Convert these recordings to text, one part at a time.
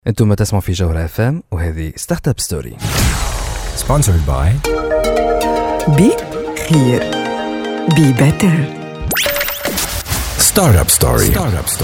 انتم تسمعوا في جوهرة FM وهذه ستارت اب ستوري sponsored by بي خير بي بيتر ستارت اب ستوري.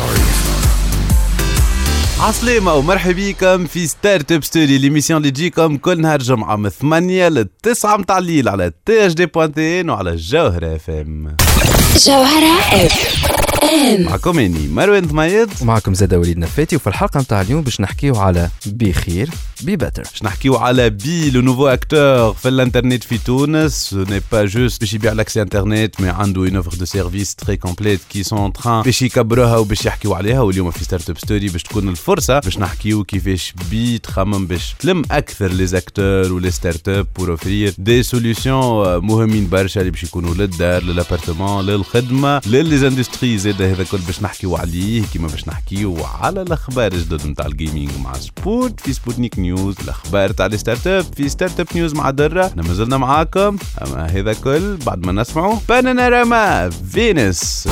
عسلامة ومرحبا بكم في ستارت اب ستوري، ليميسيون اللي تجيكم كل نهار جمعة من 8 ل 9 متاع الليل على THD.1 وعلى جوهرة FM. جوهرة FM معكم اني مروان ثميد ومعكم زادة وليد نفاتي. وفي الحلقة متاع اليوم باش نحكيو على بخير بي بيتر. باش نحكيو على بي لو نوفو اكتور في الانترنت في تونس. سو ني با جوست باش يبيع لاكسي انترنت، مي عنده اون اوفر دو سيرفيس تري كومبليت كي سون تران باش يكبروها وباش يحكيو عليها. واليوم في ستارت اب ستوري باش تكون الفرصة باش نحكيو كيفاش بي تخمم باش تلم اكثر لي زاكتور ولي ستارت اب بور اوفرير دي سوليوشن مهمين برشا اللي باش يكونوا للدار للابارتمون للخدمة للزاندستري. زاد هذا كل باش نحكيو عليه كيما باش نحكيو على الاخبار الجدد نتاع الجيمنج مع سبوت في سبوتنيك نيوز، الاخبار تاع الستارت اب في ستارت اب نيوز مع درة. احنا مازلنا معاكم، اما هذا كل بعد ما نسمعوا بانانوراما فينوس.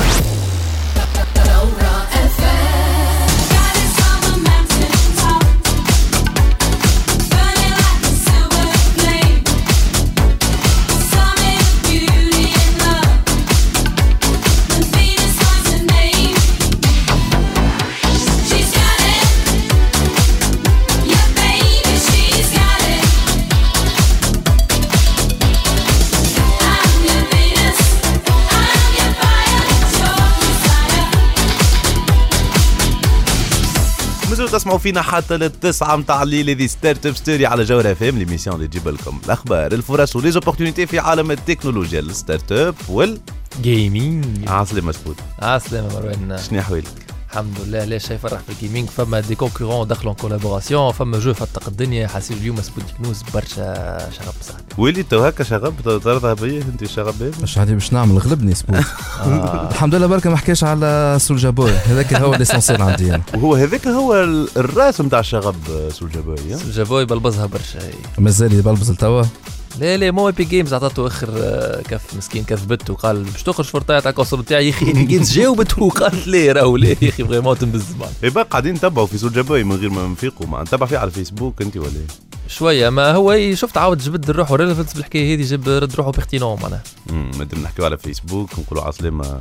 تسمعوا فينا حتى للتسعة متاع الليل. هذه ستارت اب ستوري على جوهرة FM، ليميسيون اللي تجيب لكم الاخبار الفرص وليزوبورتينيتي في عالم التكنولوجيا الستارت اب والجيمنج. عسلامة سبوت. عسلامة مروان، شنو احوالك؟ الحمد لله. ليش شايف فرح في الجيمنج؟ فما دي كونكورون دخلوا كولابوراسيون، فما جو فتق الدنيا. حاسين اليوم سبوتنيك نيوز برشا شغب صاحبي. ويلي تو هكا شغب ترضى بيا انت شغب مش عادي باش نعمل غلبني سبوت. الحمد لله بركة ما حكيش على سولجا بوي، هذاك هو ليسونسيال عندي انا. وهو هذاك هو الراس نتاع الشغب سولجا بوي. سولجا بوي بلبزها برشا. مازال يبلبز لتوا. لا مو ايبي جيمز عطاته اخر كف مسكين كذبته وقال باش تخرج فرطايه تاع الكونسول تاعي. يا اخي ايبي جيمز جاوبت وقالت لي راهو لا يا اخي فريمون تنبزمان. يبقى قاعدين نتبعوا في سولجا بوي من غير ما نفيقوا. ما نتبع فيه على الفيسبوك انت ولا شويه؟ ما هو شفت عاود جبد الروح وريليفنس بالحكايه هذه، جاب رد روحه بيختينون معناها. مادام نحكيو على فيسبوك نقولوا عسلامة.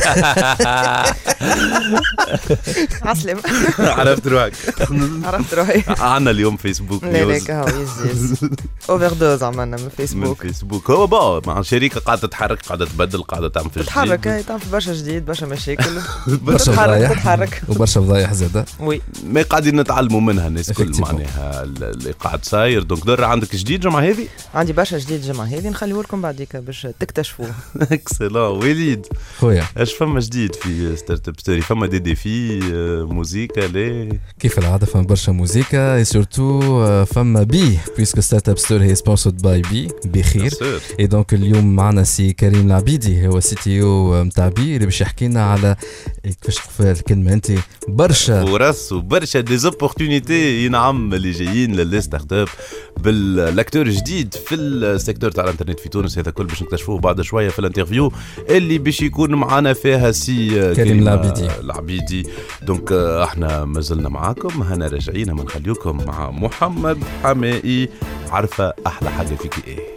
عسلامة. عرفت روحك. عرفت روحي. عنا اليوم فيسبوك نيوز. لا هاو يز اوفر دوز عملنا من فيسبوك. هو با مع شركة قاعدة تتحرك، قاعدة تبدل، قاعدة تعمل في تتحرك. هاي تعمل في برشا جديد، برشا مشاكل. برشا تتحرك وبرشا فضايح زادة. وي ما قاعدين نتعلموا منها الناس كل معناها اللي قاعد صاير. دونك در عندك جديد جمعة هذه؟ عندي برشا جديد جمعة هذه، نخليه لكم بعديك باش تكتشفوه. اكسلون. وليد خويا اش فما جديد في ستارت اب ستوري؟ فما دي ديفي موسيقى ليه؟ كيف العادة فما برشا موسيقى سورتو فما بي بيسكو ستارت اب ستوري هي سبونسورد باي بخير. اي دونك اليوم معنا سي كريم العبيدي، هو سي تي او متاع بي، اللي باش يحكي لنا على كيفاش تقول الكلمة انت برشا فرص وبرشا ديزوبورتينيتي ينعم اللي جايين للستارت اب بالاكتور جديد في السيكتور تاع الانترنت في تونس. هذا كل باش نكتشفوه بعد شويه في الانترفيو اللي باش يكون معنا فيها سي كريم العبيدي. دونك احنا مازلنا معاكم، هنا راجعين ما نخليكم مع محمد حمائي. عارفه احلى حاجه فيك ايه؟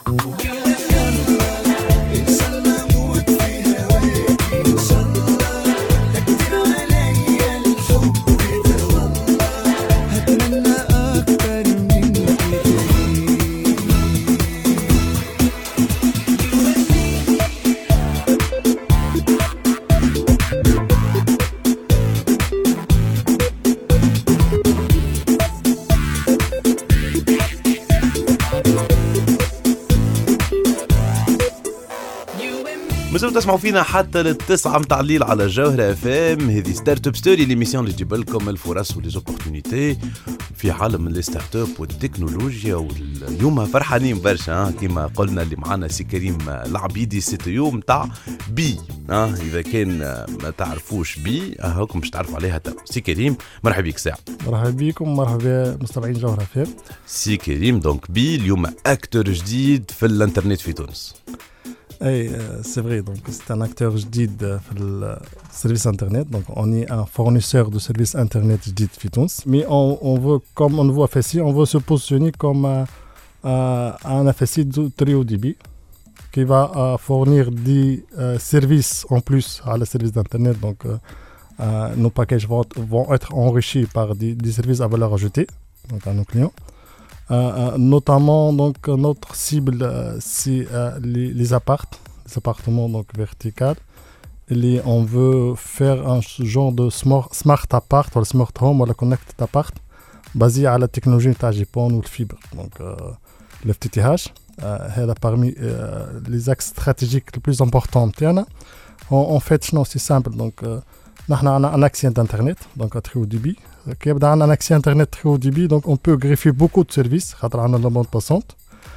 مازلتوا تسمعوا فينا حتى للتسعة متاع الليل على جوهرة FM. هذه ستارت اب ستوري، ليميسيون اللي تجيب لكم الفرص وليزوبورتينيتي في عالم الستارت اب والتكنولوجيا. واليوم فرحانين برشا كما قلنا اللي معنا سي كريم العبيدي، سي تي او متاع بي. اذا كان ما تعرفوش بي هاكم باش تعرفوا عليها تو. سي كريم مرحبا بك ساعة. مرحبا بكم، مرحبا مستمعين جوهرة FM. سي كريم دونك بي اليوم اكتور جديد في الانترنت في تونس. C'est vrai. Donc, c'est un acteur جديد في le service Internet. Donc, on est un fournisseur de services Internet جديد في تونس. Mais on veut, comme on le voit FSI, on veut se positionner comme un FSI de très haut débit qui va fournir des services en plus à la service d'Internet. Donc, nos packages vont être enrichis par des services à valeur ajoutée donc à nos clients. Notamment, donc, notre cible, c'est les appartements donc, verticaux. Et on veut faire un genre de smart appart ou smart home ou connected appart basé à la technologie de GPON ou le fibre. Donc, le FTTH, c'est parmi les axes stratégiques les plus importants. En fait, c'est simple. Donc, nous avons un accès d'Internet, donc à très haut débit. Qui a un accès Internet très haut débit, donc on peut greffer beaucoup de services. On a la bande passante.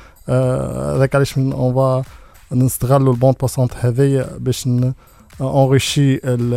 On va installer la bande passante pour enrichir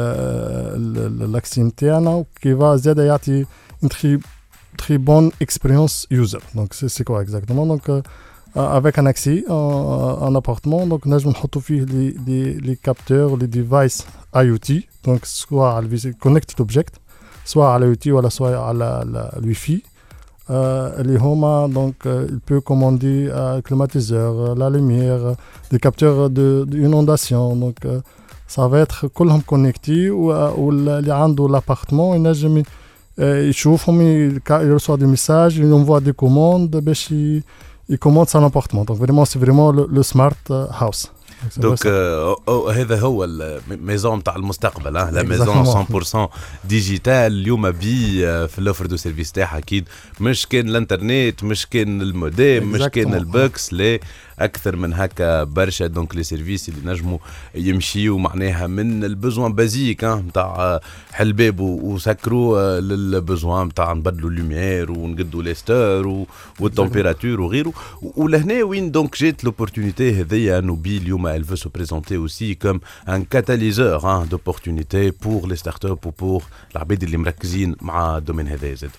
l'accès internet qui va aider une très bonne expérience user. Donc c'est quoi exactement? Donc avec un accès en appartement, donc nous avons les capteurs, les devices IoT, donc soit à la connected object, soit à l'IoT ou soit à la Wi-Fi. Les Homa, donc, il peut commander un climatiseur, la lumière, des capteurs d'inondation. Donc, ça va être كلهم connectés ou اللي عنده l'appartement ينجم يشوفهم il reçoit des messages, il envoie des commandes باش il commande son appartement. Donc, vraiment, c'est vraiment le smart house. دونك هذا هو الميزون نتاع المستقبل لا ميزون 100% ديجيتال اليوم بي في الاوفر دو سيرفيس تاعها اكيد مش كان الانترنت مش كان الموديم مش كان البوكس لا اكثر من هكا برشا. دونك لي سيرفيس اللي نجموا يمشيوا معناها من البزوان بازيك نتاع حل باب وسكروا للبزوان نتاع نبدلوا اللوميير ونقدوا لي ستور والتمبيراتور وغيره. ولهنا وين دونك جات لوبورتونيتي هذيا انه بي اليوم elle veut se présenter aussi comme un catalyseur d'opportunités pour les startups ou pour العباد اللي مركزين مع الدومين هذا زاد.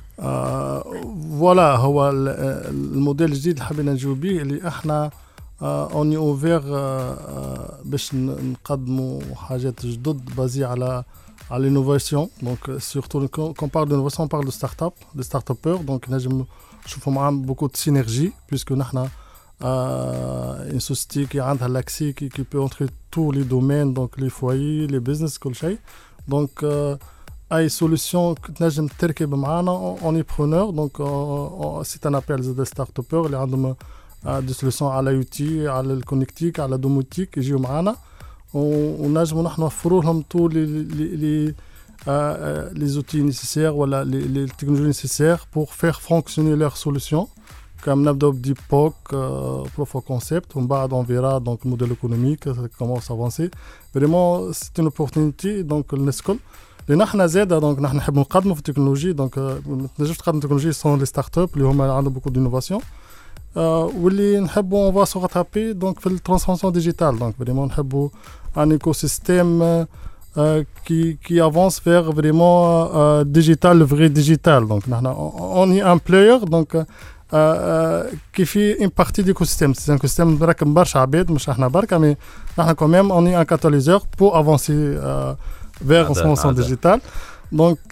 فوالا هو الموديل الجديد اللي حبينا نجاوب به اللي احنا اوني اوفير باش نقدموا حاجات جدد بازي على l'innovation. Donc surtout quand on parle d'innovation on parle de start-up, de start-upers. Donc نجم نشوفوا معاهم beaucoup de synergie puisque نحنا une société qui a l'accès qui peut entrer tous les domaines, donc les foyers, les business, كل شيء. Donc أي solution que نجم تركب معنا on est preneur. Donc c'est un appel de start-upers اللي عندهم des solutions على IoT, على الكونكتيك, على الدوموتيك يجيوا معنا ونجموا نحن نوفروا لهم tous les outils nécessaires ولا les technologies nécessaires pour faire fonctionner leurs solutions. Comme نبدأ بديب بوك proof of concept ومن بعد on verra donc le modèle économique comment s'avancer. Vraiment c'est une opportunité donc الناس الكل اللي نحن زاده donc نحن نحب نقدموا في التكنولوجيا. donc ما تنجمش تقدم تكنولوجيا sans les startups اللي هما عندهم beaucoup d'innovation واللي نحبوا on va se rattraper donc في الترانسفورماسيون ديجيتال. donc vraiment نحبوا un écosystème qui avance vers vraiment digital, le vrai digital. Donc on est un player donc qui fait une partie de l'écosystème. C'est un écosystème مركب برشا عباد مش احنا بركة mais نحن quand même on est un catalyseur pour avancer vers transformation digitale. Donc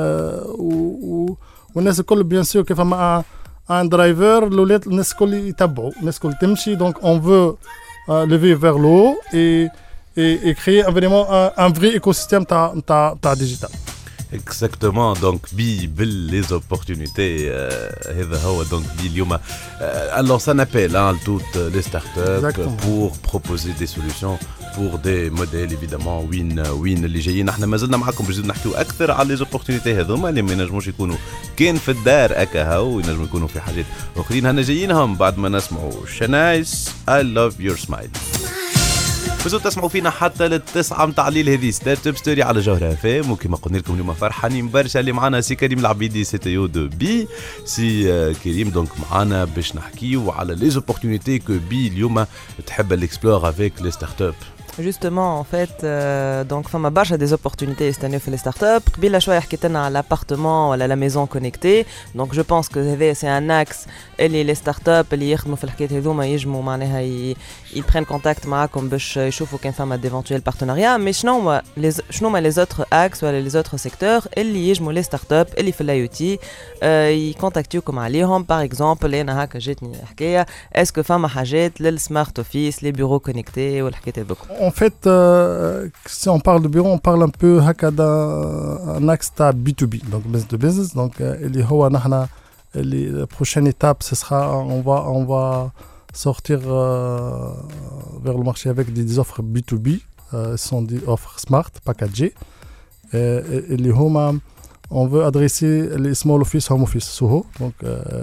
والناس الكل bien sûr كيف ما un driver الولاد الناس الكل يتبعوا الناس الكل تمشي. donc on veut lever vers le haut et créer vraiment un vrai écosystème ta digital. Exactement. Donc les opportunités هذا هو. donc اليوم on lance un appel à toutes les startups pour proposer des solutions pour des modèles évidemment win اللي جايين. احنا ما زلنا معكم باش نحكيو اكثر على les opportunités هذوما اللي ما ينجموش يكونوا كان في الدار اكا هاو ينجموا يكونوا في حاجات اخرين. هنا جايينهم بعد ما نسمعوا شنايس I love your smile. فزو تسمعوا فينا حتى للتسعة متاع الليل. هذه ستارت اب ستوري على جوهرة FM. وكما قلنا لكم اليوم فرحانين برشا اللي معنا سي كريم العبيدي سي تي او دو بي. سي كريم دونك معنا باش نحكيو على لي زوبورتونيتي كو بي اليوم تحب الاكسبلور افيك لي ستارت اب. Justement, en fait, donc, fama barcha des opportunités cette année pour les startups. Bila شوية حكيت لنا على l'appartement ولا la maison connectée. Donc, je pense que c'est un axe. Les startups اللي يخدموا في الحكايات هذوما يجموا معناها ils prennent contact معاكم باش يشوفوا كان فما d'éventuels partenariats. Mais شنو ما les autres axes ولا les autres secteurs اللي يجموا les startups اللي في ال IoT يكونتاكتيوكم عليهم. Par exemple, أنا هكا جاتني حكاية. Est-ce que فما حاجات للسمارت اوفيس les bureaux connectés والحكايات هذوك؟ En fait, si on parle de bureau, on parle un peu d'un axe B2B, donc business to business. Donc, la prochaine étape, ce sera, on va sortir vers le marché avec des offres B2B, ce sont des offres smart, packagées. On veut adresser les small office, home office, SOHO. Donc,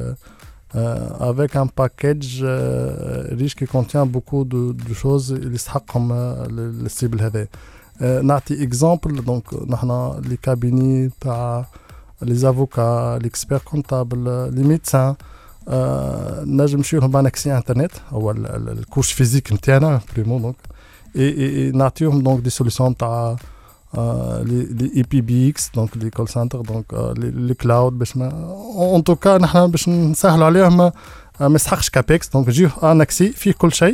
avec un package riche qui contient beaucoup de choses comme le cible هذا. نعطي exemple, donc نحن les cabinets les avocats, l'expert comptable, les médecins نجم نمشيو لهم بانكسي انترنت او الكورس فيزيك نتاعنا بريمو دونك et نعطيهم donc des solutions تاع les EPBX donc les call centers donc les cloud باش en tout cas نحن باش نسهلوا عليهم ما يسحقش كابيكس دونك يجيو ان اكسي فيه كل شيء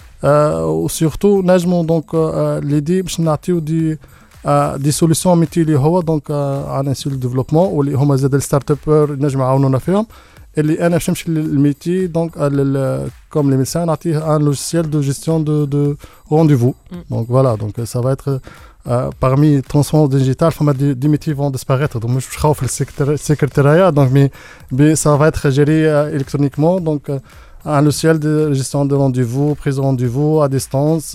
وسورتو نجموا دونك ليدي باش نعطيو دي سوليسيون ميتي اللي هو دونك عن سول ديفلوبمون واللي هما زاد الستارت ابر نجموا يعاونونا فيهم اللي انا باش نمشي للميتي دونك كوم لي ميدسان نعطيه ان لوجيسيال دو جيستيون دو رونديفو دونك فوالا دونك سا va être parmi les transformations digitales, des métiers vont disparaître. Donc, je trouve le secrétariat, donc, mais ça va être géré électroniquement. Donc, un logiciel de gestion de rendez-vous, prise de rendez-vous à distance,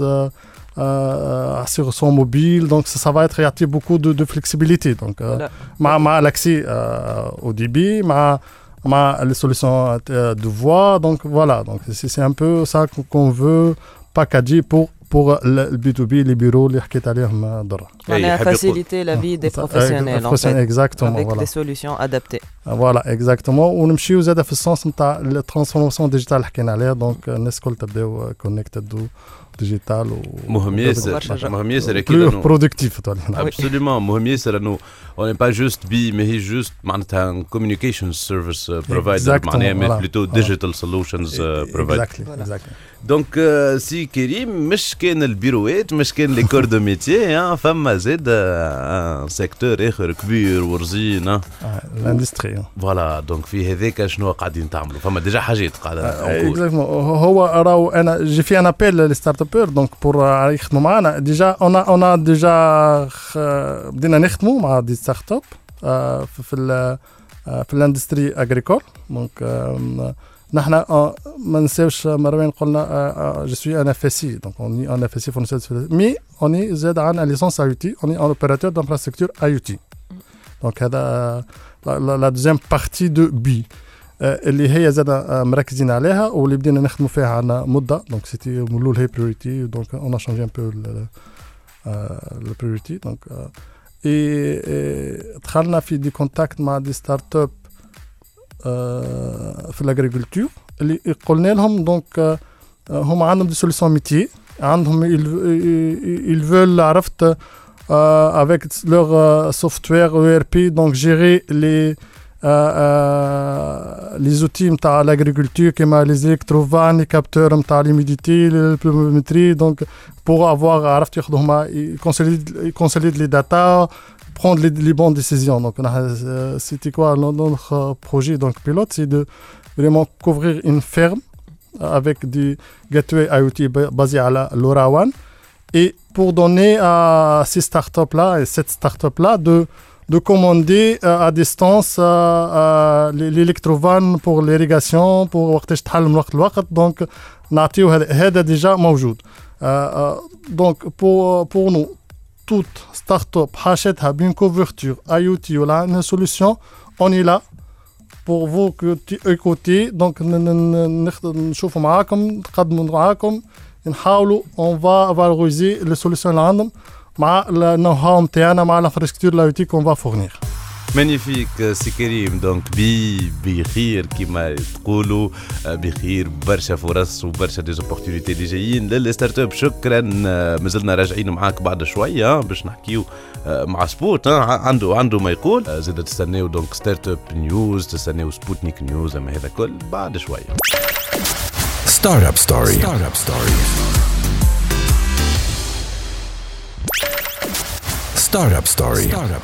sur son mobile. Donc, ça va être, il y a beaucoup de flexibilité. Donc, l'accès au débit, les solutions de voix. Donc, voilà. Donc, c'est un peu ça qu'on veut packager pour le B2B, les bureaux, les حكيت عليهم ضرا. معناها faciliter la vie des professionnels en fait. Exactement. Avec voilà. des solutions adaptées. Voilà, exactement. ونمشيو زاد في السنس نتاع الترانسفورماسيون ديجيتال اللي حكينا عليها دونك الناس الكل تبداو كونكتد ديجيتال مهم ياسر اكيد برودكتيف ابسوليومون مهم ياسر انه on n'est pas juste بي mais هي juste معناتها communication service provider معناها plutôt digital solutions provider exactly دونك سي كريم مش كان البيروات مش كان لي كور دو ميتيي فما زاد ان سيكتور اخر كبير ورزين الاندستري فوالا دونك في هذاك شنو قاعدين تعملوا فما ديجا حاجات قاعده هو راهو انا جي في ان ابيل لي ستارت ابر دونك بور يخدموا معنا ديجا انا ديجا بدينا نخدموا مع دي ستارت اب في الاندستري اغريكول دونك نحن ما نساوش مروان قلنا جو سوي ان اف اس سي دونك اوني ان اف اس سي فورنيسور مي اوني زاد عن ليسونس اي او تي اوني ان اوبيراتور دانفراستركتور اي او تي دونك هذا لا دوزيام بارتي دو بي اللي هي زاد مركزين عليها واللي بدينا نخدموا فيها عنا مده دونك سيتي مولول هي بريوريتي دونك اون ا شانجي ان بو لا بريوريتي دونك اي دخلنا في دي كونتاكت مع دي ستارت اب في الاغريكولتور اللي قلنا لهم دونك هم عندهم دي سوليسيون ميتي عندهم ils veulent عرفت avec leur software ERP donc gérer les outils نتاع l'agriculture كما les électrovannes les capteurs نتاع l'humidité la pluviométrie donc pour avoir عرفت ياخذوا هما consolider les data prendre les bonnes décisions. Donc, c'était quoi notre projet donc pilote, c'est de vraiment couvrir une ferme avec des gateways IoT basés à la LoRaWAN et pour donner à ces startups-là et cette startup-là de commander à distance l'électrovanne pour l'irrigation, pour وقتاش تحل من وقت لوقت. Donc, نعطيو هذا déjà موجود. Donc, pour nous, toute start-up حاشتها بين couverture IoT ولا une solution, on est là pour vous écouter. Donc نشوفوا معاكم نقدموا معاكم نحاولوا on va valoriser les solutions اللي عندهم مع النو هاو نتاعنا مع l'infrastructure IoT qu'on va fournir. مانيفيك سي كريم. دونك بخير كما تقولوا، بخير برشا فرص وبرشا ديزوبورتينيتي اللي جايين للستارت اب. شكرا. مازلنا راجعين معاك بعد شويه باش نحكيو مع سبوت عنده ما يقول. زاد تستناو دونك ستارت اب نيوز، تستناو سبوتنيك نيوز، اما هذا كل بعد شويه. ستارت اب ستوري. Startup Story.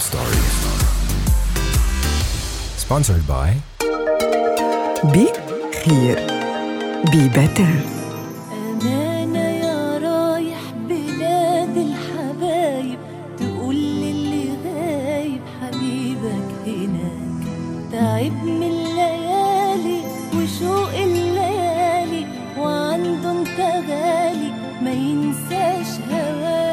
Sponsored by بي خير بي بيتر. أمانة يا رايح بلاد الحبايب، تقول للي غايب حبيبك هناك. تعب من الليالي وشوق الليالي، وعنده انت غالي ما ينساش هواك.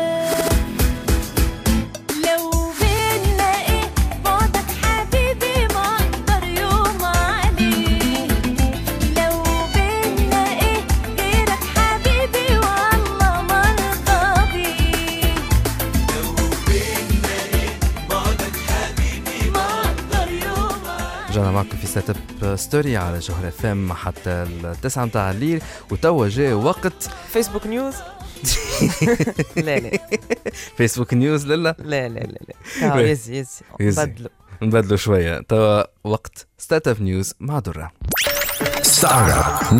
رجعنا معكم في ستارت اب ستوري على جوهر اف ام حتى 9 متاع الليل، وتوا جاء وقت فيسبوك نيوز. لا فيسبوك نيوز. لا يزي نبدلوا شويه. توا وقت ستارت اب نيوز مع درة. ستارت اب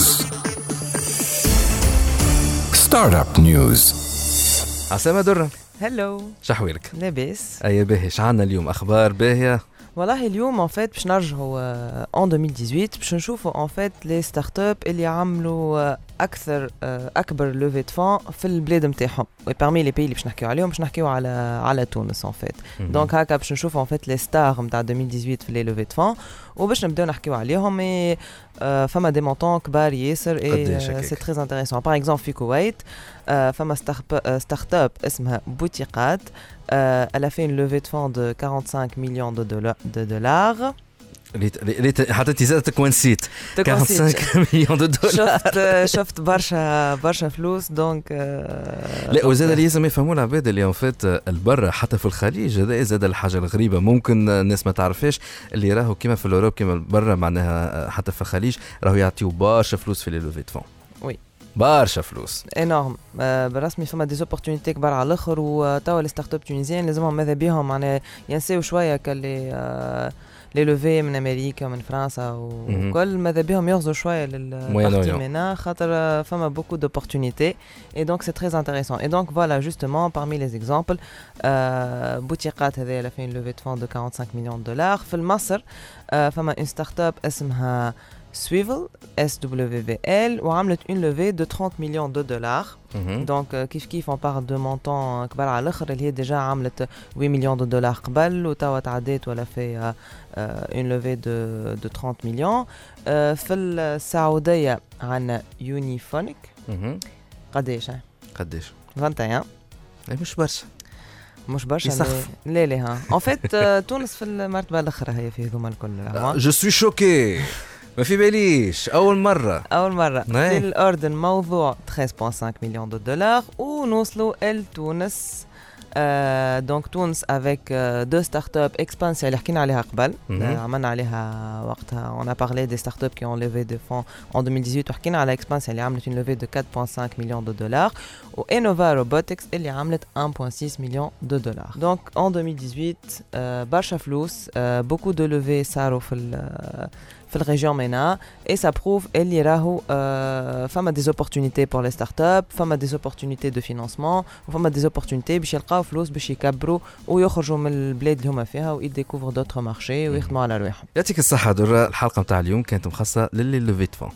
نيوز. عسلامة درة. هلو شحويلك؟ لاباس. اي باهي. شعنا اليوم اخبار باهيه؟ والله اليوم ان فيت باش نرجعوا ان 2018 باش نشوفوا ان فيت لي ستارت اب اللي عملوا اكبر لوفي دو فون في البلاد نتاعهم. وبارمي لي بي اللي باش نحكيو عليهم باش نحكيو على تونس ان فيت. دونك هكا باش نشوفوا ان فيت لي ستار نتاع 2018 في لي لوفي دو فون، وباش نبداو نحكيو عليهم. اي فما دي مونطون كبار ياسر، اي سي تري انتريسون. باغ اكزومبل في الكويت فما ستارت اب اسمها بوتيقات. Elle a fait une levée de fonds de 45 millions de dollars. حطيتي زادتك ونسيت 45 مليون دولار. شفت برشا فلوس. دونك لا، وزاد اللي لازم يفهموا العباد اللي ان فيت البرة حتى في الخليج هذا زاد الحاجه الغريبه ممكن الناس ما تعرفهاش، اللي راهو كيما في الاوروب كيما برا معناها حتى في الخليج راهو يعطيو برشا فلوس في لي لوفي دو فون. وي برشا فلوس انورم. بالرسمي فما دي زوبورتونيتي كبار على الاخر. وتوا لي ستارت اب تونيزيان لازمهم ماذا بيهم معناها ينساو شويه كاللي لي لوفي من امريكا ومن فرنسا وكل ماذا بيهم يغزوا شويه للبارتي منا خاطر فما بوكو دوبورتونيتي. اي دونك سي تري انتريسون. اي دونك فوالا جوستومون parmi les exemples بوتيقات هذه لا فين لوفي دو فون دو 45 مليون دولار. في مصر فما اون ستارت اب اسمها Swivel SWVL وعملت une levée de 30 millions de dollars. Donc كيف on parle de montant كبار على الاخر اللي هي ديجا عملت 8 مليون دولار قبل وتوا تعديت ولا في une levée de 30 مليون. في السعودية عندنا يونيفونيك. قديش 21. مش برشا لا ها en fait تونس في المرتبة الأخرى هي في هذوما الكل. Je suis choqué. ما في باليش أول مرة في الأردن موضوع 13.5 مليون دولار ونوصلوا لتونس. دونك تونس افيك دو ستارت اب اكسبانسيا اللي حكينا عليها قبل. عملنا عليها وقتها on a parlé des startups qui ont levé des fonds en 2018 وحكينا على اكسبانسيا اللي عملت une levée de 4.5 مليون دولار وانوفا روبوتكس اللي عملت 1.6 مليون دولار. دونك en 2018 برشا فلوس beaucoup de levées صاروا في الريجيون منا et ça prouve اللي راهو فما des opportunités pour les startups, فما des opportunités de financement وفما des opportunités باش يلقاو فلوس باش يكبروا ويخرجوا من البلاد اللي هما فيها ويديكوفروا d'autres marchés ويخدموا على رواحهم. يعطيك الصحة درة. الحلقة متاع اليوم كانت مخصصة للي لوفي دو فون.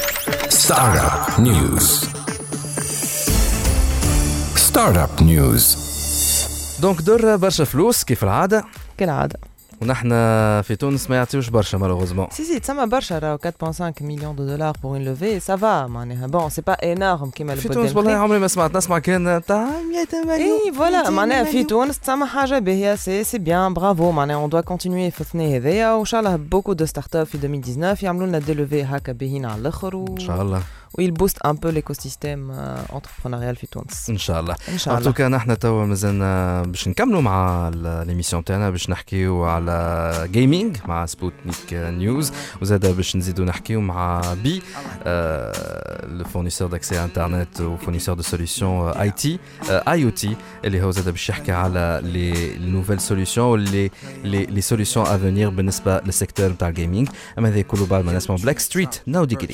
ستارت اب نيوز. دونك درة برشا فلوس كيف العادة كالعادة. ونحن في تونس ما يعطيوش برشا مالوغوزمون. سي تسمى برشا راهو 4.5 مليون دولار بور اون لوفي سافا معناها بون سي با انورم كيما في تونس. والله عمري ما سمعت. نسمع كان تاع 100 مليون. اي فوالا معناها في تونس تسمى حاجه باهيه. سي بيان برافو معناها اون دوا كونتينيي في الثنيه هذيا وان شاء الله بوكو دو ستارت اب في 2019 يعملوا لنا دي لوفي هكا باهين على الاخر ان شاء الله ويل بوست ان بو ليكوسيستيم انتربرونيال في تونس ان شاء الله. ان شاء الله. ان توكا نحن توا مازلنا باش نكملوا مع ليميسيون تاعنا باش نحكيو على جيمنج مع سبوتنيك نيوز وزاده باش نزيدوا نحكيو مع بي le fournisseur d'accès à internet ou fournisseur de solutions IT IoT اللي هو زاده باش يحكي على les nouvelles solutions ou les solutions à venir بالنسبه للسيكتور نتاع الجيمنج. اما هذا كله بعد ما نسمع بلاك ستريت نو ديجري.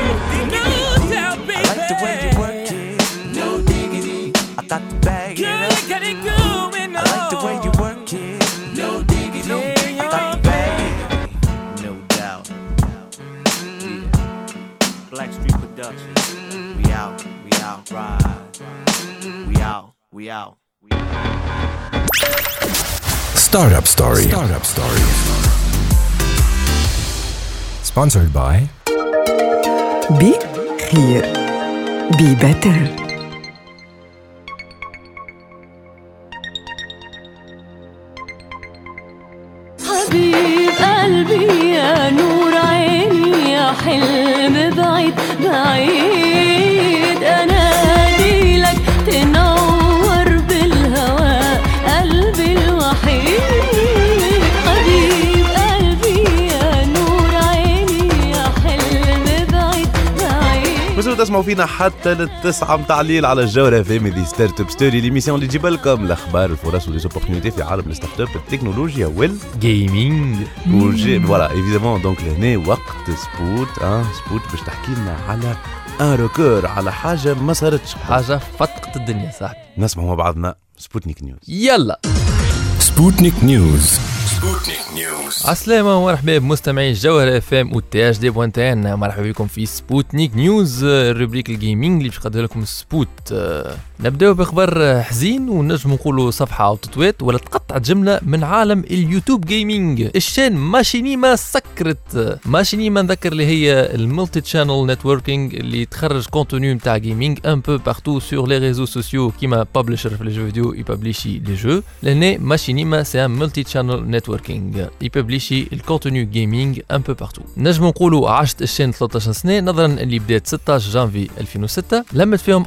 Startup Story. Sponsored by Be Here. Be Better. حبيب قلبي يا نور عيني يا حلم بعيد بعيد أنادي لك تنور بالهواء قلبي الوحيد. حبيب قلبي يا نور عيني يا حلم بعيد بعيد. مازالوا تسمعوا فينا حتى للتسعة متاع الليل على الجوهرة في دي ستارت اب ستوري ليميسيون اللي تجيب لكم الاخبار الفرص وليزوبورتينيتي في عالم الستارت اب التكنولوجيا جيمنج فوالا ايفيدامون. دونك لهنا وقت سبوت باش تحكي لنا على ان ريكور على حاجه ما صارتش حاجه فتقت الدنيا صاحبي. نسمعوا مع بعضنا سبوتنيك نيوز. يلا سبوتنيك نيوز. عسلامة ومرحبا بمستمعي الجوهرة اف ام والتي اش دي بوانتين. مرحبا بكم في سبوتنيك نيوز الروبريك الجيمنج اللي باش نقدم لكم سبوت. نبداو بخبر حزين ونجم نقولوا صفحة او تطويت ولا تقطع جملة من عالم اليوتيوب جيمنج. الشان ماشينيما سكرت. ماشينيما نذكر اللي هي الملتي تشانل نتوركينج اللي تخرج كونتوني نتاع جيمنج ان بو بارتو سور لي ريزو سوسيو كيما بابليشر في لي جو فيديو يبابليشي لي جو. لهنا ماشينيما سي ان ملتي تشانل نتوركينج يبابليشي الكونتوني جيمنج ان بو بارتو. نجم نقولوا عاشت الشان 13 سنة نظرا اللي بدات 16 جانفي 2006 لمت فيهم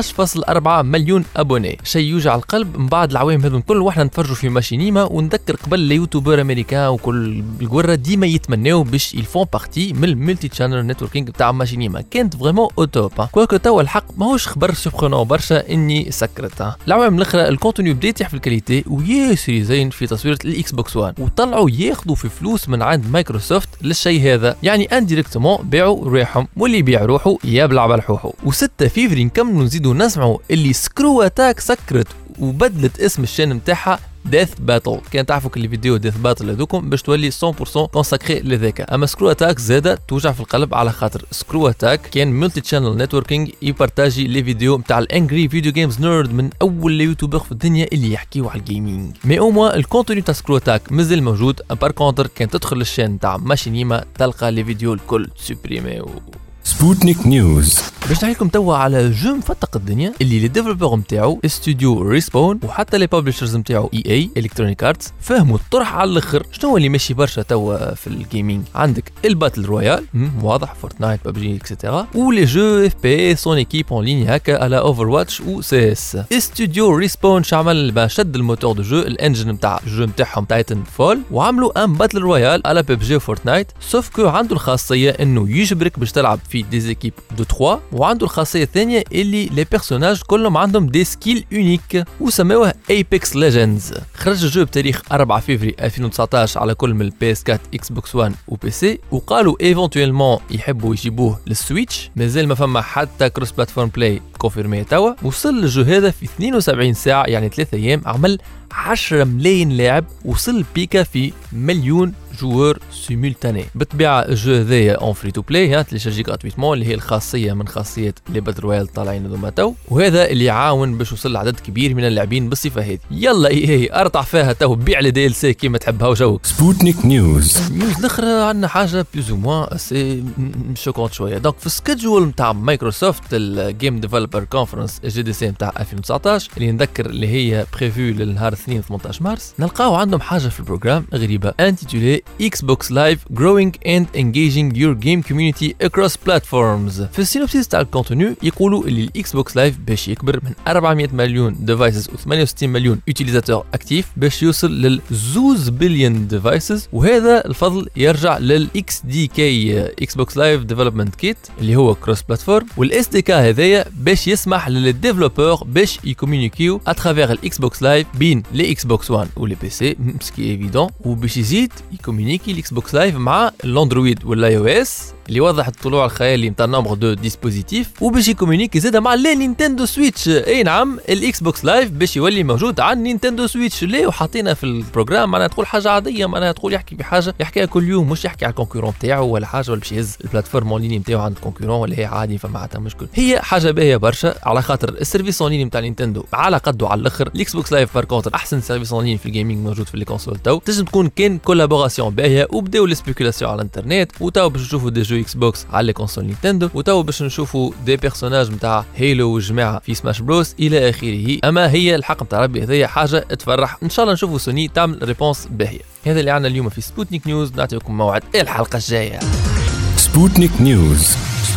12.4 مليون ابوني. شيء يوجع القلب من بعد العوام هذون كل واحنا نتفرجوا في ماشينيما ونذكر قبل اليوتيوبر امريكان وكل القرة ديما يتمناو باش يلفون بارتي من الملتي تشانل نتوركينج تاع ماشينيما. كانت فريمون او توب كوكو توا الحق ماهوش خبر سبخونو برشا اني سكرت. العوام الاخرى الكونتوني بدا يطيح في الكاليتي وياسر زين في تصوير الاكس بوكس 1 وطلعوا ياخذوا في فلوس من عند مايكروسوفت للشيء هذا. يعني انديريكتومون باعوا ريحهم واللي يبيع روحه يبلع بلحوحه. و6 فيفري نكملوا نزيدوا نسمعوا اللي سكرو اتاك سكرت وبدلت اسم الشان نتاعها ديث باتل. كان تعرفوا كل فيديو ديث باتل هذوكم باش تولي 100% كونساكري لذاك. اما سكرو اتاك زاده توجع في القلب على خاطر سكرو اتاك كان ملتي تشانل نتوركينج يبارتاجي لي فيديو نتاع الانجري فيديو جيمز نيرد من اول يوتيوبر في الدنيا اللي يحكيوا على الجيمنج. مي او موان الكونتوني تاع سكرو اتاك مازال موجود. بار كونتر كان تدخل للشان نتاع ماشينيما تلقى لي فيديو الكل سوبريمي. سبوتنيك نيوز. باش نحكي لكم توا على جو مفتق الدنيا اللي لي ديفلوبر نتاعو استوديو ريسبون وحتى لي بابليشرز نتاعو اي الكترونيك ارتس فهموا الطرح على الاخر. شنو اللي ماشي برشا توا في الجيمنج؟ عندك الباتل رويال واضح فورتنايت ببجي اكسيتيرا ولي جو اف بي سون ايكيب اون لين هكا على اوفر واتش و سي اس. استوديو ريسبون شعمل شد الموتور دو جو الانجن نتاع الجو نتاعهم تايتن فول وعملوا ان باتل رويال على ببجي فورتنايت سوف كو عنده الخاصيه انه يجبرك باش تلعب في دي ايكيب دو 3 وعنده الخاصيه الثانيه اللي لي بيرسوناج كلهم عندهم دي سكيل يونيك وسموه ايبكس ليجندز. خرج الجو بتاريخ 4 فيفري 2019 على كل من البي اس 4 اكس بوكس 1 وبي سي وقالوا ايفونتويلمون يحبوا يجيبوه للسويتش. مازال ما فما حتى كروس بلاتفورم بلاي كونفيرمي توا. وصل الجو هذا في 72 ساعه يعني 3 ايام عمل 10 ملايين لاعب وصل بيكا في مليون جوار سيمولتاني. بالطبيعه الجو هذايا اون فري تو بلاي تليشارجي غراتويتمون اللي هي الخاصيه من خاصيات لي باتل رويال طالعين هذوما تو وهذا اللي يعاون باش يوصل لعدد كبير من اللاعبين بالصفه هذه. يلا ايه ارطع فيها تو بيع لي دي ال سي كيما تحبها وجوك. سبوتنيك نيوز. النيوز الاخرى عندنا حاجه بلوز او موان سي شوكونت شويه. دونك في السكيدجول نتاع مايكروسوفت الجيم ديفلوبر كونفرنس جي دي سي نتاع 2019 اللي نذكر اللي هي بريفو للنهار 2 18 مارس نلقاو عندهم حاجه في البروجرام غريبه انتيتولي Xbox Live growing and engaging your game community across platforms. في السينوبسيس تاع الكونتوني يقولوا اللي الاكس بوكس لايف باش يكبر من 400 مليون ديفايسز و68 مليون يوتيليزاتور اكتيف باش يوصل لل 2 بليون ديفايسز، وهذا الفضل يرجع للاكس دي كي اكس بوكس لايف ديفلوبمنت كيت اللي هو كروس بلاتفورم، والاس دي كي هذايا باش يسمح للديفلوبور باش يكومونيكيو اترافير الاكس بوكس لايف بين لي اكس بوكس 1 و لي بي سي سكي ايفيدون، وباش يزيد يكومونيكي الاكس بوكس لايف مع الاندرويد والاي او اس اللي وضح الطلوع الخيالي نتاع نومبر دو ديسبوزيتيف، وباش يكومونيكي زاد مع لي نينتندو سويتش. اي نعم الاكس بوكس لايف باش يولي موجود على نينتندو سويتش ليه، وحاطينها في البروجرام معناها تقول حاجه عاديه، معناها تقول يحكي بحاجه يحكيها كل يوم، مش يحكي على الكونكورون تاعو ولا حاجه ولا باش يهز البلاتفورم اون ليني نتاعو عند الكونكورون ولا هي عادي فما حتى مشكل. هي حاجه باهيه برشا على خاطر السيرفيس اون ليني نتاع نينتندو على قده على الاخر. الاكس بوكس لايف بار كونتر احسن سيرفيس اون ليني في الجيمنج موجود في لي كونسول تو، تنجم تكون كان كولابوراسيون باهيه، وبداو لي سبيكولاسيون على الانترنت، وتو باش نشوفوا دي جو اكس بوكس على كونسول نينتندو، وتو باش نشوفوا دي بيرسوناج نتاع هيلو والجماعه في سماش بروس الى اخره. اما هي الحق نتاع ربي هذيا حاجه تفرح، ان شاء الله نشوفوا سوني تعمل ريبونس باهيه. هذا اللي عندنا اليوم في سبوتنيك نيوز، نعطيكم موعد الحلقه الجايه. سبوتنيك نيوز.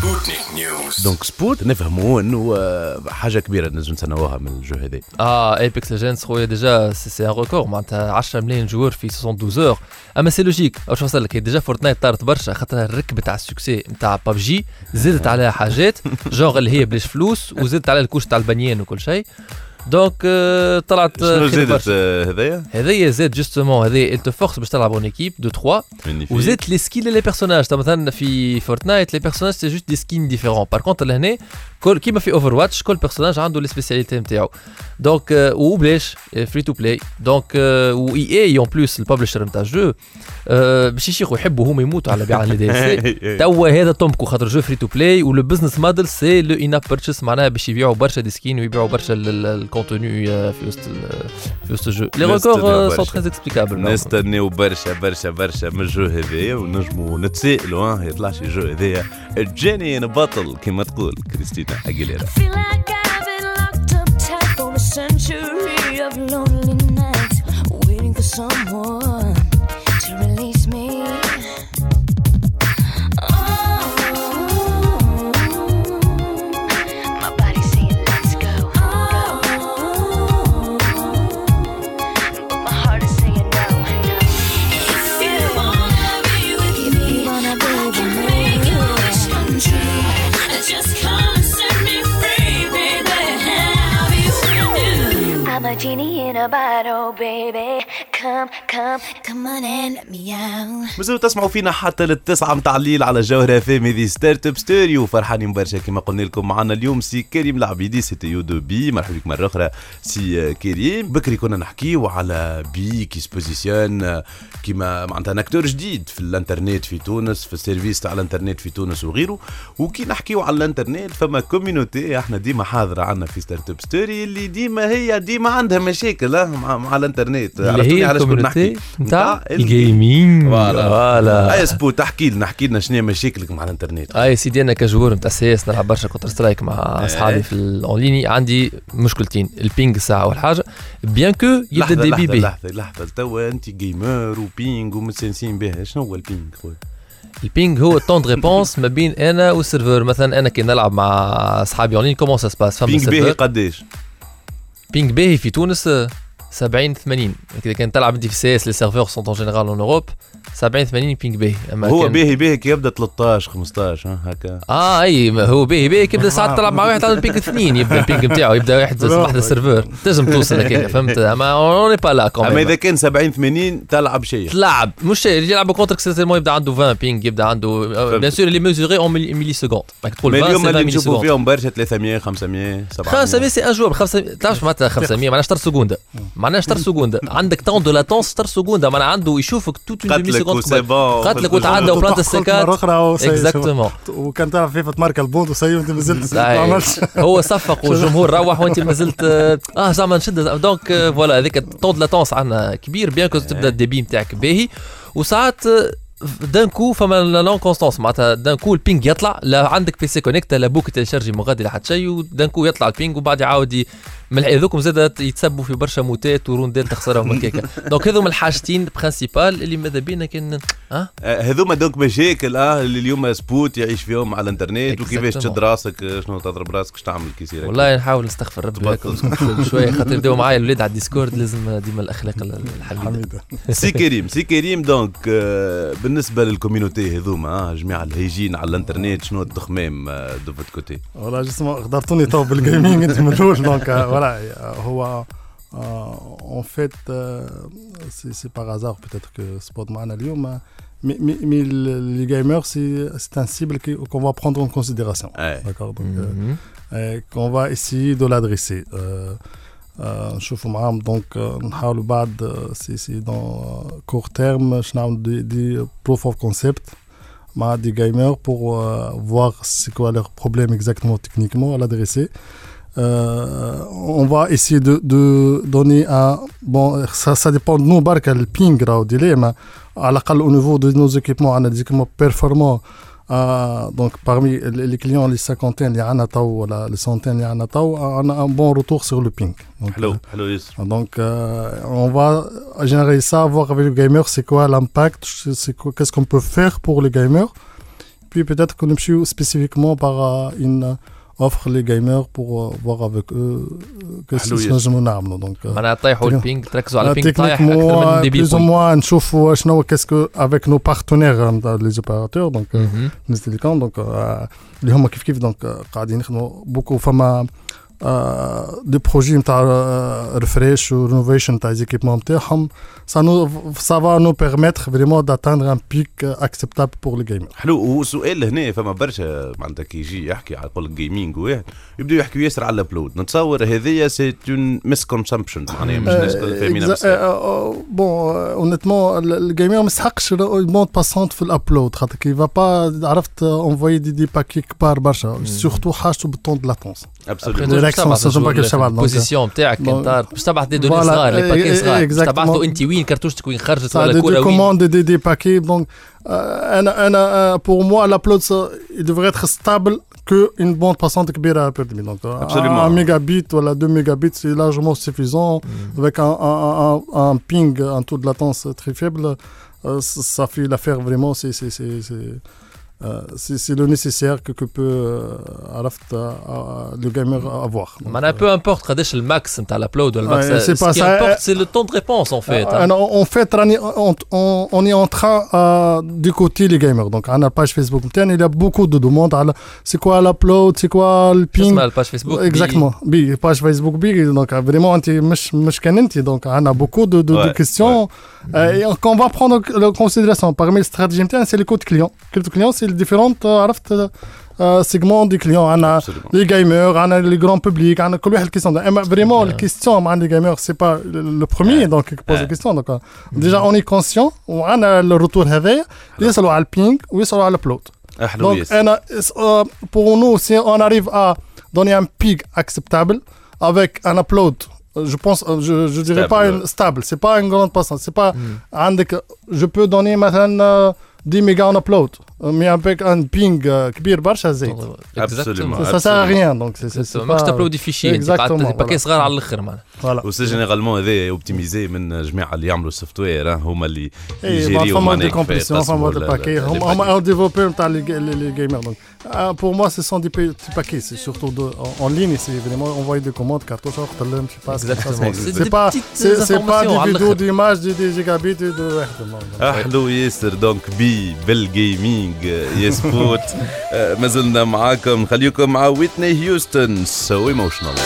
دونك سبوت نفهموا انه حاجه كبيره نجم نتناوها من الجو هذا. ايبكس ليجندز خويا ديجا سي ان ريكور معناتها 10 ملايين جوار في 72 اور. اما سي لوجيك واش نوصل لك، ديجا فورتنايت طارت برشا خاطر الركبه تاع السكسي نتاع بابجي زادت عليها حاجات جونغ اللي هي بلاش فلوس، وزادت على الكوش تاع البنيان وكل شيء. دونك طلعت شنو زادت هذايا زاد جوستومون هذايا انت فورس باش تلعب اون ايكيب دو 3، وزادت لي سكين لي بيرسوناج. مثلا في فورتنايت لي بيرسوناج سي جوست دي سكين ديفيرون، بار كونتر لهنا كل كيما في اوفر واتش كل بيرسوناج عنده لي سبيسياليتي نتاعو. دونك وبلاش فري تو بلاي. دونك و اي اون بلوس الببلشر نتاع الجو باش يشيخوا يحبوا هما يموتوا على بيع لي دي سي. توا هذا تومكو خاطر جو فري تو بلاي، ولو بزنس موديل سي لو ان اب بيرتشيس، معناها باش يبيعوا برشا دي سكين ويبيعوا برشا الكونتوني في وسط الجو. لي ريكور سون تري اكسبليكابل. نستناو برشا من الجو هذايا، ونجموا نتسائلوا يطلع شي جو هذايا الجاني بطل كما تقول كريستينا أغيليرا. Century of lonely nights, waiting for someone to release me. Oh, my body saying let's go, but my heart is saying no. If you wanna be with me, make your wish come true. Just come and set me free, baby. I'm a genie in a bottle, baby. Come on and let me out. مازالوا تسمعوا فينا حتى للتسعة متاع الليل على جوهرة فام. هذه ستارت اب ستوريو، فرحانين برشا كما قلنا لكم. معنا اليوم سي كريم العبيدي سي تي يو دو بي. مرحبا بك مرة أخرى سي كريم. بكري كنا نحكيو على بي كي سبوزيسيون كيما معناتها اكتور جديد في الانترنت في تونس، في السيرفيس تاع الانترنت في تونس وغيره. وكي نحكيو على الانترنت فما كوميونيتي احنا ديما حاضرة عنا في ستارت اب ستوري اللي ديما عندها مشاكل مع الانترنت. اللي هي الكوميونيتي نتاع الجيمنج. فوالا اي سبو تحكي لنا شنو مشاكلك مع الانترنت. اي سيدي انا كجوار نتاع سي اس نلعب برشا كونتر سترايك مع اصحابي في الاونلاين. عندي مشكلتين، البينج ساعه اول حاجه بيان كو يبدا الدي بي بي. لحظه توا انت جيمر وبينج ومتسنسين بها، شنو هو البينج خويا؟ البينج هو التون دو ريبونس ما بين انا والسيرفر. مثلا انا كي نلعب مع اصحابي اونلاين كومون سا سباس فما بينج باهي قداش؟ بينج باهي في تونس 70 80. اذا كان تلعب انت في سي اس لي سيرفور سون اون جينيرال اون اوروب 70 80 بينج باهي. اما هو باهي كي يبدا 13 15 هكا. اي هو باهي كي يبدا ساعات تلعب مع واحد عنده البينج 2 يبدا البينج نتاعو يبدا واحد السيرفور تنجم توصل هكاك فهمت. اما اون با لا كوم. اما اذا كان 70 80 تلعب شيء تلعب مش شيء يلعب كونتر سيرتينمون يبدا عنده 20 بينج يبدا عنده بيان سور لي ميزوري اون ملي سكوند. راك تقول اليوم اللي نشوفوا فيهم برشا 300 500 700. 500 سي ان جواب 500 تعرفش معناتها 500 معناها 10 سكوند معناها 10 سكوند عندك طون دو لاتونس 10 سكوند معناها عنده يشوفك توت اون ديمي سكوند قتلك وتعدى وبلانت السكات اكزاكتومون. وكان تعرف فيفا تمارك البوند وسي وانت مازلت هو صفق والجمهور روح وانت مازلت زعما نشد. دونك فوالا هذيك طون دو لاتونس عندنا كبير بيان كو تبدا الديبي نتاعك باهي. وساعات دان كو فما لون كونستانس معناتها دان كو البينج يطلع لا عندك بي سي كونيكت لا بوك تيليشارجي مغادي لحد شيء ودان كو يطلع البينج وبعد يعاود من هذوكم زاد يتسبوا في برشا موتات وروندات تخسرهم هكاك دونك هذوما الحاجتين برينسيبال اللي ماذا بينا كان هذوما دونك مشاكل اللي اليوم سبوت يعيش فيهم على الانترنت وكيفاش تشد راسك شنو تضرب راسك اش تعمل كي يصير والله نحاول نستغفر ربي هكا شويه خاطر يبداو معايا الاولاد على الديسكورد لازم ديما الاخلاق الحميده سي كريم دونك بالنسبه للكوميونيتي هذوما جميع الهيجين على الانترنت شنو التخمام دو فوت كوتي والله جسم غدرتوني تو بالجيمنج انت من الاول دونك هو en fait c'est par hasard peut-être que Spot معنا اليوم mais les gamers c'est un cible qu'on va prendre en considération d'accord donc qu'on va essayer de l'adresser نشوفوا معاهم دونك نحاولوا بعد سي dans court terme باش نعملوا دي proof of concept مع des gamers pour voir c'est quoi leur problème exactement techniquement à l'adresser. On va essayer de donner un bon ça dépend de nous barka le ping راهو ديلي ما على الاقل au niveau de nos équipements on a des équipements performants donc parmi les clients les cinquantaines اللي عندنا تو ولا les centaines اللي عندنا تو on a un bon retour sur le ping حلو ياسر donc on va générer ça voir avec les gamers c'est quoi l'impact qu'est-ce qu'on peut faire pour les gamers puis peut-être qu'on نمشيو spécifiquement par une offre les gamers pour voir avec eux qu'est-ce que نجمو نعملو donc معناها طيحوا البينج تركزوا على البينج طايح اكثر من الدي بي plus ou moins نشوفوا شنو qu'est-ce que avec nos partenaires les opérateurs donc les télécoms donc اللي هما كيف donc قاعدين يخدموا beaucoup فما des projets نتاع refresh ou renovation نتاع les équipements نتاعهم ça va nous permettre vraiment d'atteindre un pic acceptable pour les gamers. حلو وسؤال هنا فما برشا معناتها كي يجي يحكي على قول الجيمنج واحد يبداو يحكيوا ياسر على الابلود نتصور هذيا سي اون ميس كونسامبشن معناها مش الناس الكل فاهمينها بصح بون اونيتمون الجيمر ما يسحقش المود باسونت في الابلود خاطر كي فا با عرفت انفوي دي باكي كبار برشا سورتو حاجته بالطون دو لاتونس البوزيسيون نتاعك انت باش تبعث دي دوني صغار لي باكي صغار باش تبعثوا انت وين كرتوشتك وين خرجت ولا كره وين commande des paquets donc pour moi l'upload il devrait être stable que une bande passante كبيرة permis donc un mégabit ou 2 mégabits c'est largement suffisant avec un ping un taux de latence très faible ça fait l'affaire vraiment c'est le nécessaire que peut le gamer avoir. معناها peu importe قداش الماكس نتاع الابلود ولا الماكس ce qui importe c'est le temps de réponse en fait. En fait on est en train d'écouter les gamers donc on a page Facebook نتاعنا il y a beaucoup de demandes على c'est quoi l'upload c'est quoi le ping اسمها الباج فيسبوك exactement بي page Facebook بي donc vraiment انت مش كان انت donc on a beaucoup de questions et qu'on va prendre en considération parmi les stratégies نتاعنا c'est les codes clients c'est les différentes عرفت segments des clients عندنا les gamers عندنا les grands publics عندنا كل واحد question اما vraiment les questions مع les gamers c'est pas le premier donc qui pose les questions donc déjà on est conscient وعندنا le retour هذايا يسالوا على البينج ويسالوا على الابلود donc انا pour nous si on arrive à donner un pic acceptable avec un upload je pense je dirais pas une stable c'est pas une grande passante c'est pas je peux donner مثلا 10 mégas en upload mais avec un ping كبير برشا زيد absolument ça sert à rien donc c'est ماكش تابلود في شيء exactement باكي صغار على الاخر معناها وسي جينيرالمون هذا اوبتيميزي من جماعه اللي يعملوا السوفت وير هما اللي يجيريو معناها دي كومبريسيون فما دي باكي هما ديفلوبور نتاع لي جيمر donc pour moi ce sont des petits paquets c'est surtout en ligne c'est vraiment envoyer des commandes cartouche وقت اللي مش c'est pas des vidéos d'images des gigabits de احلو ياسر دونك بي بالجيمنج يسبوت ما زلنا معاكم خليكم مع ويتني هيوستن so emotional.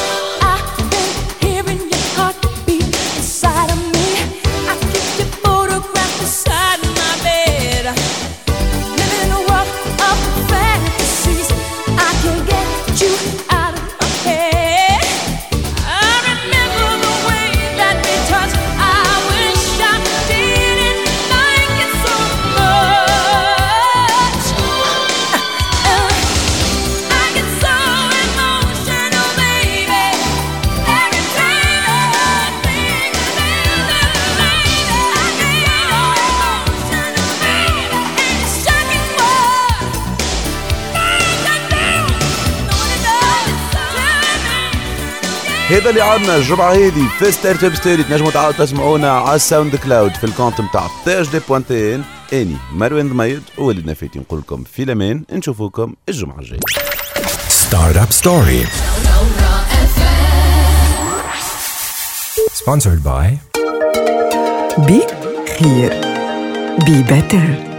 Baby هذا اللي عندنا الجمعة هذه في ستارت اب ستوري. تنجموا تعاودوا تسمعونا على الساوند كلاود في الكونت نتاع THD.n. اني مروان ضميد ووليد نفيتي نقول لكم في الامان، نشوفوكم الجمعة الجاية. Start Up Story. Sponsored by Be Here. Be Better.